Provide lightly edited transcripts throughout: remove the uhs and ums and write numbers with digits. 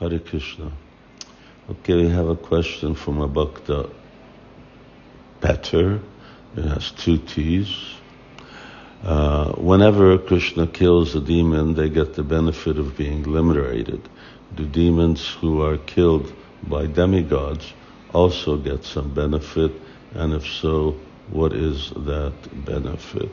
Hare Krishna. Okay, we have a question from a Bhakta Petter. It has 2 T's. Whenever Krishna kills a demon, they get the benefit of being liberated. Do demons who are killed by demigods also get some benefit? And if so, what is that benefit?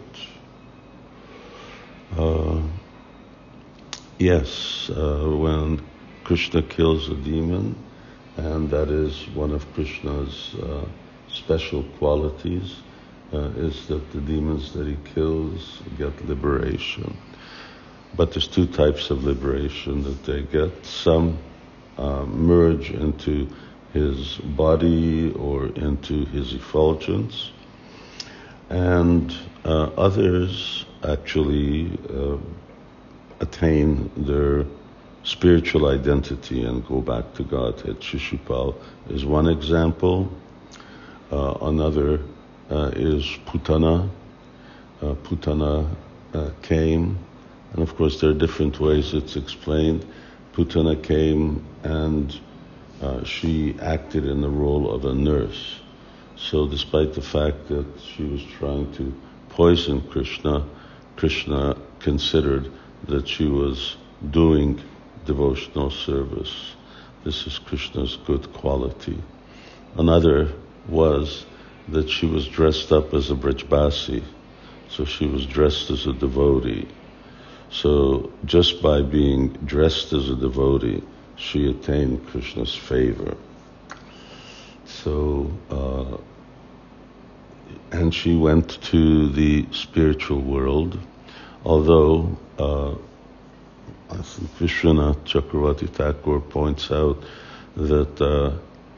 Yes, when Krishna kills a demon, and that is one of Krishna's special qualities, is that the demons that he kills get liberation. But there's 2 types of liberation that they get. Some merge into his body or into his effulgence, and others actually attain their spiritual identity and go back to Godhead. Shishupal is one example. Another is Putana. Putana came, and of course there are different ways it's explained. Putana came and she acted in the role of a nurse. So despite the fact that she was trying to poison Krishna, Krishna considered that she was doing devotional service. This is Krishna's good quality. Another was that she was dressed up as a Brajbasi, so she was dressed as a devotee. So just by being dressed as a devotee, she attained Krishna's favor. So, and she went to the spiritual world, although I think Vishwanath Chakravarti Thakur points out that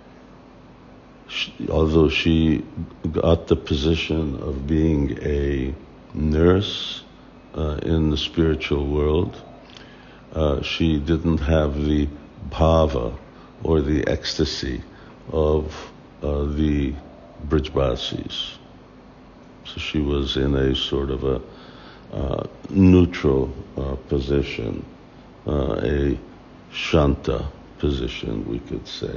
although she got the position of being a nurse in the spiritual world, she didn't have the bhava or the ecstasy of the Brajbasis. So she was in a sort of a neutral position, a shanta position, we could say.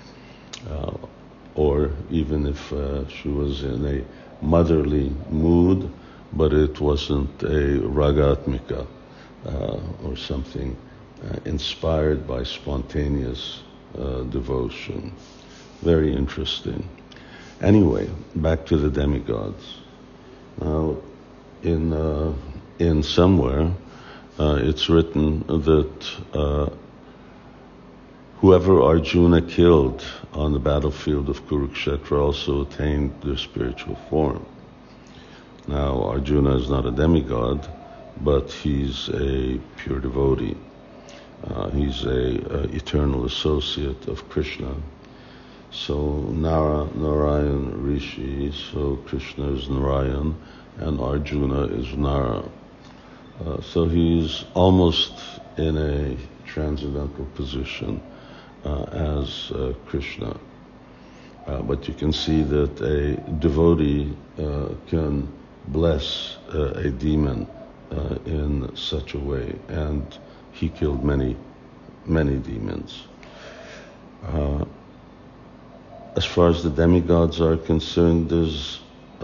Or even if she was in a motherly mood, but it wasn't a ragatmika or something inspired by spontaneous devotion. Very interesting. Anyway, back to the demigods. Now, in somewhere, it's written that whoever Arjuna killed on the battlefield of Kurukshetra also attained their spiritual form. Now, Arjuna is not a demigod, but he's a pure devotee. He's a eternal associate of Krishna. So Narayan Rishi, so Krishna is Narayan, and Arjuna is Nara. So he's almost in a transcendental position as Krishna. But you can see that a devotee can bless a demon in such a way, and he killed many demons. As far as the demigods are concerned, there's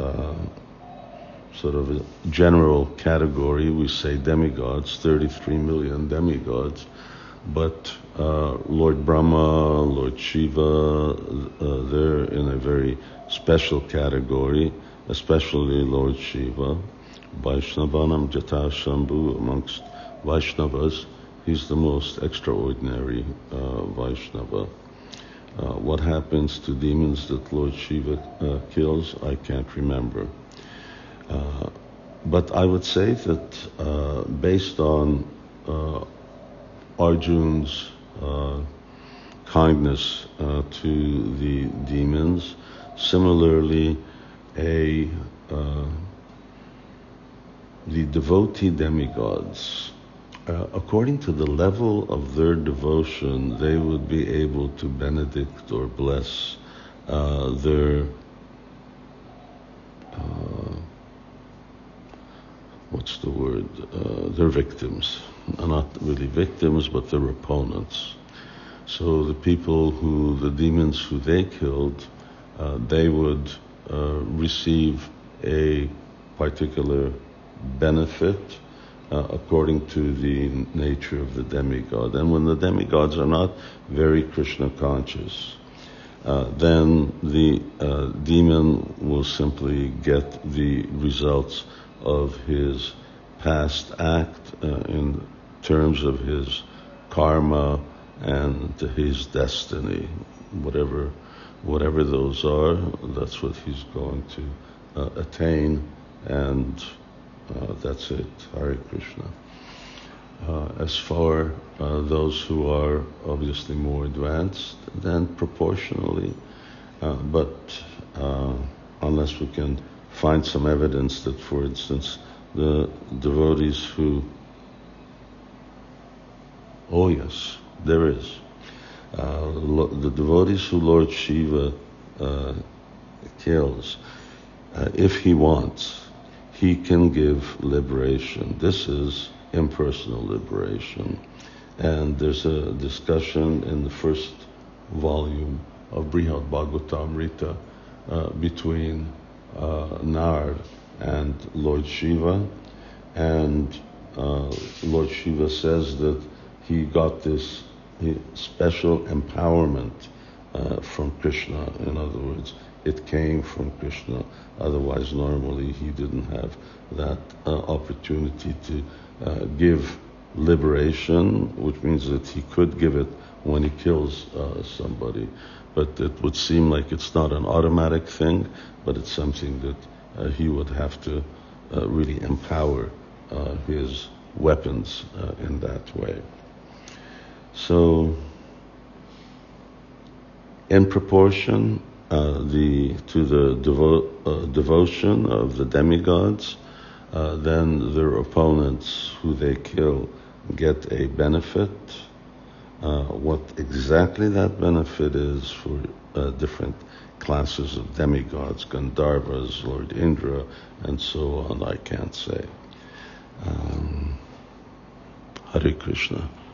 sort of a general category. We say demigods, 33 million demigods, but Lord Brahma, Lord Shiva, they're in a very special category, especially Lord Shiva. Vaishnavanam Jata Shambhu, amongst Vaishnavas, he's the most extraordinary Vaishnava. What happens to demons that Lord Shiva kills, I can't remember. But I would say that based on Arjun's kindness to the demons, similarly the devotee demigods, according to the level of their devotion, they would be able to benedict or bless their their victims. Not really victims, but their opponents. So the the demons who they killed, they would receive a particular benefit according to the nature of the demigod. And when the demigods are not very Krishna conscious, then the demon will simply get the results of his past act in terms of his karma and his destiny. Whatever those are, that's what he's going to attain, and that's it. Hare Krishna. As for those who are obviously more advanced, then proportionally, but unless we can find some evidence that, for instance, the devotees who, oh yes, there is, the devotees who Lord Shiva kills, if he wants, he can give liberation. This is impersonal liberation. And there's a discussion in the first volume of Brihad Bhagavatamrita between Nard and Lord Shiva. And Lord Shiva says that he got this special empowerment from Krishna. In other words, it came from Krishna. Otherwise, normally he didn't have that opportunity to give liberation, which means that he could give it when he kills somebody. But it would seem like it's not an automatic thing, but it's something that he would have to really empower his weapons in that way. So, in proportion to the devotion of the demigods, then their opponents who they kill get a benefit. What exactly that benefit is for different classes of demigods, Gandharvas, Lord Indra, and so on, I can't say. Hare Krishna.